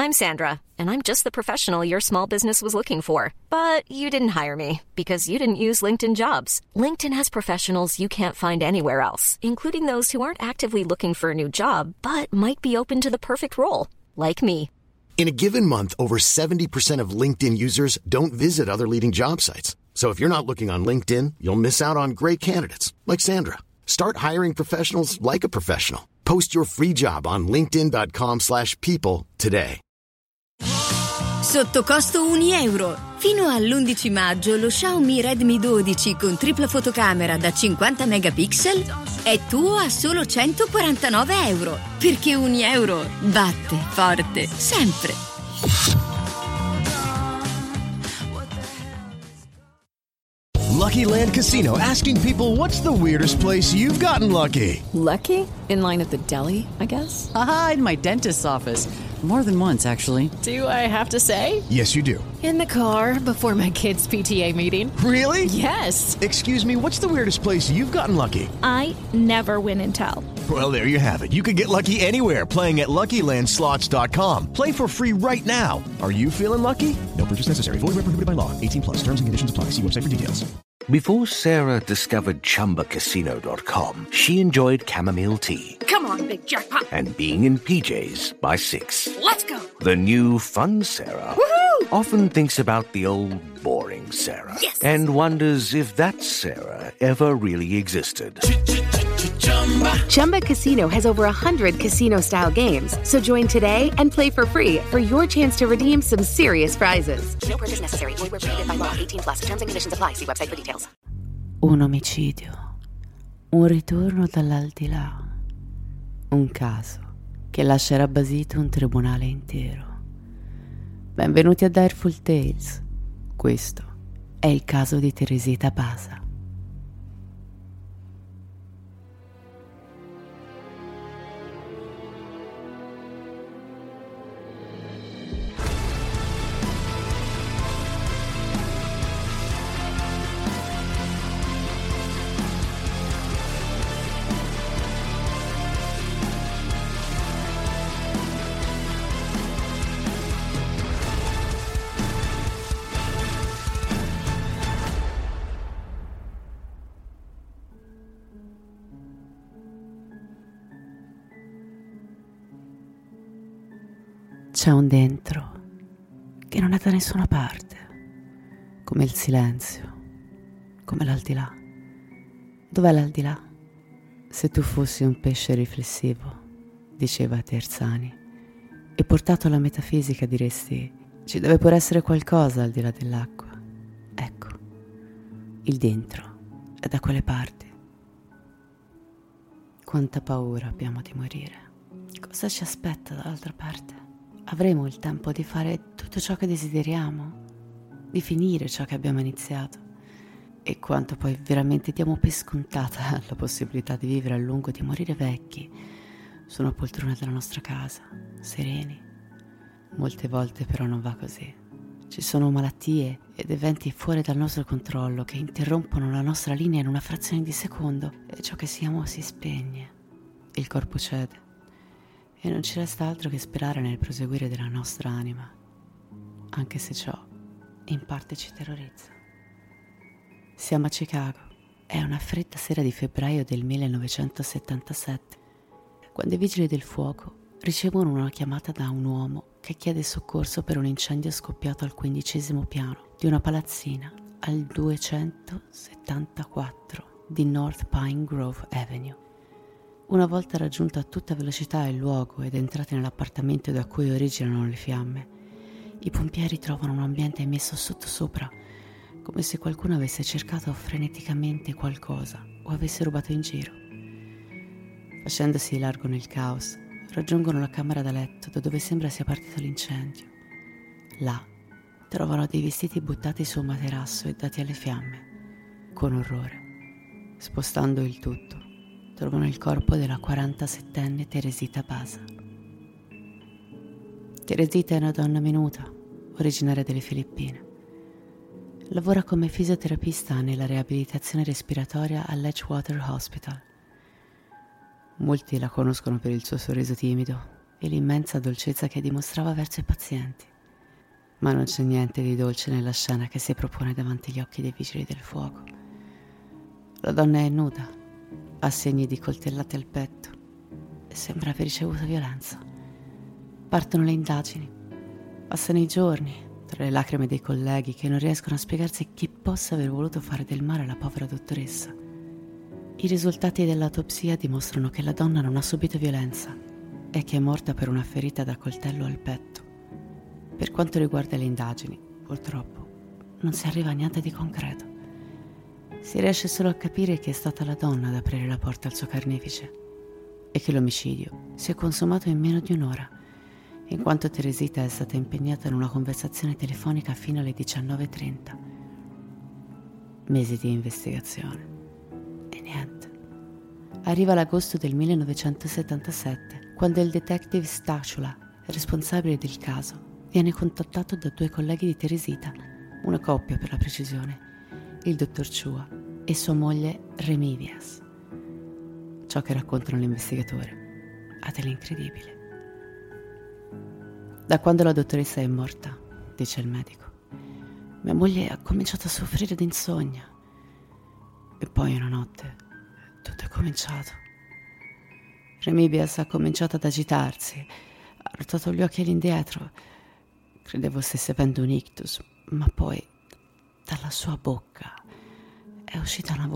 I'm Sandra, and I'm just the professional your small business was looking for. But you didn't hire me because you didn't use LinkedIn Jobs. LinkedIn has professionals you can't find anywhere else, including those who aren't actively looking for a new job, but might be open to the perfect role, like me. In a given month, over 70% of LinkedIn users don't visit other leading job sites. So if you're not looking on LinkedIn, you'll miss out on great candidates, like Sandra. Start hiring professionals like a professional. Post your free job on linkedin.com/people today. Sotto costo €1. Fino all'11 maggio lo Xiaomi Redmi 12 con tripla fotocamera da 50 megapixel è tuo a solo €149. Perché €1 batte forte sempre. Lucky Land Casino, asking people, what's the weirdest place you've gotten lucky? Lucky? In line at the deli, I guess? Aha, in my dentist's office. More than once, actually. Do I have to say? Yes, you do. In the car before my kids' PTA meeting. Really? Yes. Excuse me, what's the weirdest place you've gotten lucky? I never win and tell. Well, there you have it. You can get lucky anywhere, playing at LuckyLandSlots.com. Play for free right now. Are you feeling lucky? No purchase necessary. Void where prohibited by law. 18 plus. Terms and conditions apply. See website for details. Before Sarah discovered ChumbaCasino.com, she enjoyed chamomile tea. Come on, big jackpot. And being in PJs by 6. Let's go. The new fun Sarah often thinks about the old boring Sarah. Yes. And wonders if that Sarah ever really existed. Chumba Casino has over 100 casino-style games. So join today and play for free for your chance to redeem some serious prizes. No purchase necessary. Void where prohibited by law. 18 plus. Terms and conditions apply. See website for details. Un omicidio. Un ritorno dall'aldilà. Un caso che lascerà basito un tribunale intero. Benvenuti a Direful Tales. Questo è il caso di Teresita Pasa. C'è un dentro che non è da nessuna parte, come il silenzio, come l'aldilà. Dov'è l'aldilà? Se tu fossi un pesce riflessivo, diceva Terzani, e portato alla metafisica diresti: ci deve pure essere qualcosa al di là dell'acqua. Ecco, il dentro è da quelle parti. Quanta paura abbiamo di morire. Cosa ci aspetta dall'altra parte? Avremo il tempo di fare tutto ciò che desideriamo, di finire ciò che abbiamo iniziato, e quanto poi veramente diamo per scontata la possibilità di vivere a lungo, di morire vecchi su una poltrona della nostra casa, sereni. Molte volte però non va così. Ci sono malattie ed eventi fuori dal nostro controllo che interrompono la nostra linea in una frazione di secondo e ciò che siamo si spegne. Il corpo cede. E non ci resta altro che sperare nel proseguire della nostra anima, anche se ciò in parte ci terrorizza. Siamo a Chicago. È una fredda sera di febbraio del 1977, quando i vigili del fuoco ricevono una chiamata da un uomo che chiede soccorso per un incendio scoppiato al 15° piano di una palazzina al 274 di North Pine Grove Avenue. Una volta raggiunto a tutta velocità il luogo ed entrati nell'appartamento da cui originano le fiamme, i pompieri trovano un ambiente messo sottosopra, come se qualcuno avesse cercato freneticamente qualcosa o avesse rubato in giro. Facendosi largo nel caos, raggiungono la camera da letto da dove sembra sia partito l'incendio. Là trovano dei vestiti buttati su un materasso e dati alle fiamme. Con orrore, spostando il tutto, trovano il corpo della 47enne Teresita Pasa. Teresita è una donna minuta, originaria delle Filippine. Lavora come fisioterapista nella riabilitazione respiratoria all'Edgewater Hospital. Molti la conoscono per il suo sorriso timido e l'immensa dolcezza che dimostrava verso i pazienti. Ma non c'è niente di dolce nella scena che si propone davanti agli occhi dei vigili del fuoco. La donna è nuda, ha segni di coltellate al petto e sembra aver ricevuto violenza. Partono le indagini, passano i giorni, tra le lacrime dei colleghi che non riescono a spiegarsi chi possa aver voluto fare del male alla povera dottoressa. I risultati dell'autopsia dimostrano che la donna non ha subito violenza e che è morta per una ferita da coltello al petto. Per quanto riguarda le indagini, purtroppo, non si arriva a niente di concreto. Si riesce solo a capire che è stata la donna ad aprire la porta al suo carnefice e che l'omicidio si è consumato in meno di un'ora, in quanto Teresita è stata impegnata in una conversazione telefonica fino alle 19:30. Mesi di investigazione. E niente. Arriva l'agosto del 1977, quando il detective Stachula, responsabile del caso, viene contattato da 2 colleghi di Teresita, una coppia per la precisione, il dottor Chua e sua moglie Remibias. Ciò che raccontano l'investigatore ha dell'incredibile. Da quando la dottoressa è morta, dice il medico, mia moglie ha cominciato a soffrire di insonnia. E poi una notte tutto è cominciato. Remibias ha cominciato ad agitarsi, ha ruotato gli occhi all'indietro. Credevo stesse avendo un ictus, ma poi dalla sua bocca è uscita una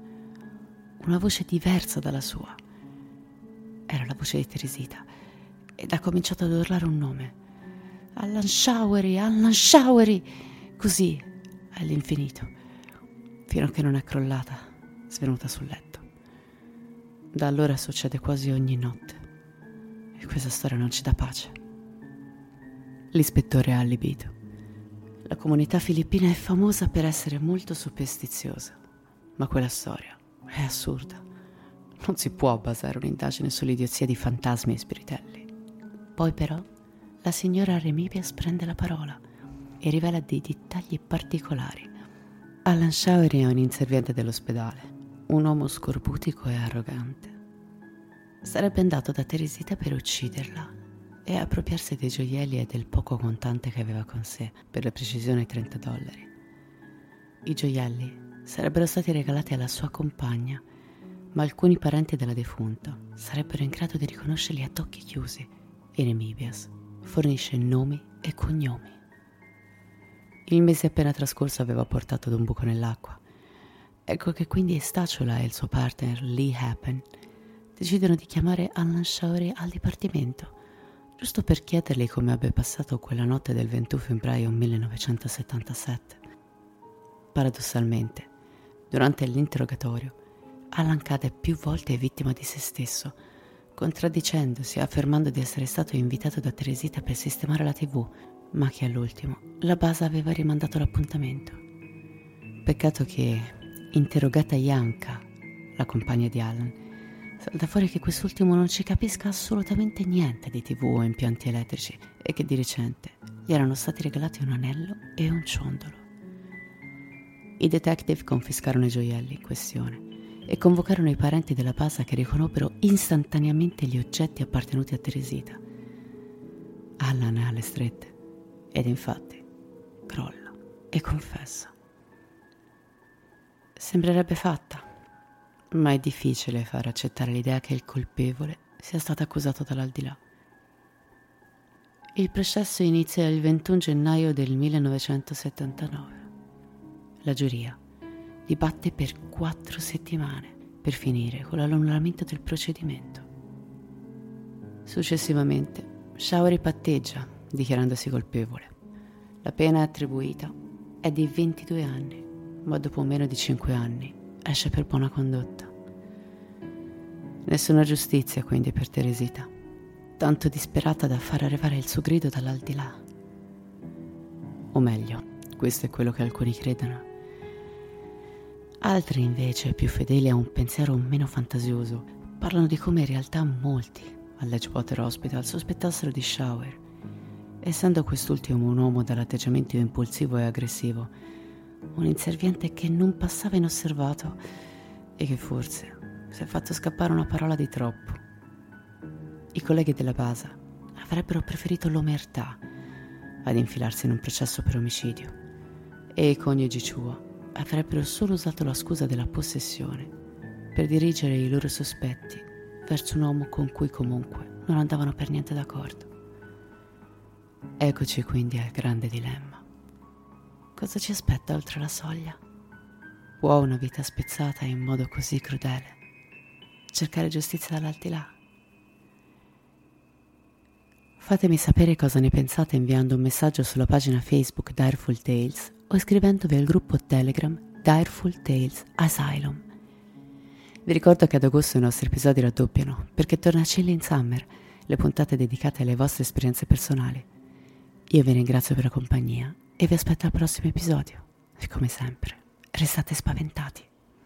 voce diversa dalla sua. Era la voce di Teresita ed ha cominciato ad urlare un nome. Allan Showery, così all'infinito, fino a che non è crollata, svenuta sul letto. Da allora succede quasi ogni notte e questa storia non ci dà pace. L'ispettore ha allibito. La comunità filippina è famosa per essere molto superstiziosa, ma quella storia è assurda. Non si può basare un'indagine sull'idiozia di fantasmi e spiritelli. Poi però la signora Remibias prende la parola e rivela dei dettagli particolari. Allan Showery è un inserviente dell'ospedale, un uomo scorbutico e arrogante. Sarebbe andato da Teresita per ucciderla e appropriarsi dei gioielli e del poco contante che aveva con sé, per la precisione $30. I gioielli sarebbero stati regalati alla sua compagna, ma alcuni parenti della defunta sarebbero in grado di riconoscerli a occhi chiusi e Remibias fornisce nomi e cognomi. Il mese appena trascorso aveva portato ad un buco nell'acqua. Ecco che quindi Stachula e il suo partner Lee Happen decidono di chiamare Allan Showery al dipartimento, giusto per chiedergli come abbia passato quella notte del 21 febbraio 1977. Paradossalmente, durante l'interrogatorio, Allan cade più volte vittima di se stesso, contraddicendosi, affermando di essere stato invitato da Teresita per sistemare la TV, ma che all'ultimo la base aveva rimandato l'appuntamento. Peccato che, interrogata Janka, la compagna di Allan, salta fuori che quest'ultimo non ci capisca assolutamente niente di TV o impianti elettrici e che di recente gli erano stati regalati un anello e un ciondolo. I detective confiscarono i gioielli in questione e convocarono i parenti della base che riconobbero istantaneamente gli oggetti appartenuti a Teresita. Allan è alle strette ed infatti crolla e confessa. Sembrerebbe fatta, ma è difficile far accettare l'idea che il colpevole sia stato accusato dall'aldilà. Il processo inizia il 21 gennaio del 1979. La giuria dibatte per 4 settimane per finire con l'annullamento del procedimento. Successivamente, Showery patteggia, dichiarandosi colpevole. La pena attribuita è di 22 anni, ma dopo meno di 5 anni esce per buona condotta. Nessuna giustizia quindi per Teresita, tanto disperata da far arrivare il suo grido dall'aldilà. O meglio, questo è quello che alcuni credono. Altri invece, più fedeli a un pensiero meno fantasioso, parlano di come in realtà molti all'Edgewater Hospital sospettassero di Showery, essendo quest'ultimo un uomo dall'atteggiamento impulsivo e aggressivo, un inserviente che non passava inosservato e che forse si è fatto scappare una parola di troppo. I colleghi della base avrebbero preferito l'omertà ad infilarsi in un processo per omicidio e i coniugi Chua avrebbero solo usato la scusa della possessione per dirigere i loro sospetti verso un uomo con cui comunque non andavano per niente d'accordo. Eccoci quindi al grande dilemma. Cosa ci aspetta oltre la soglia? Può una vita spezzata in modo così crudele cercare giustizia dall'aldilà? Fatemi sapere cosa ne pensate inviando un messaggio sulla pagina Facebook Direful Tales o iscrivendovi al gruppo Telegram Direful Tales Asylum. Vi ricordo che ad agosto i nostri episodi raddoppiano perché torna Chilling Summer, le puntate dedicate alle vostre esperienze personali. Io vi ringrazio per la compagnia e vi aspetto al prossimo episodio. E come sempre, restate spaventati.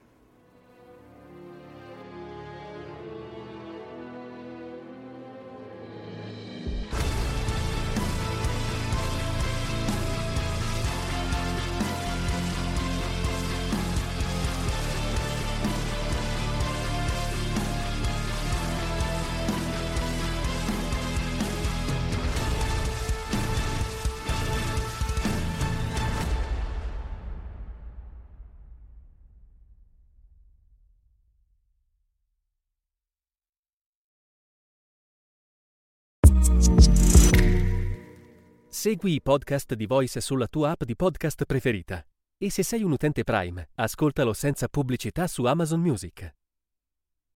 Segui i podcast di Voice sulla tua app di podcast preferita. E se sei un utente Prime, ascoltalo senza pubblicità su Amazon Music.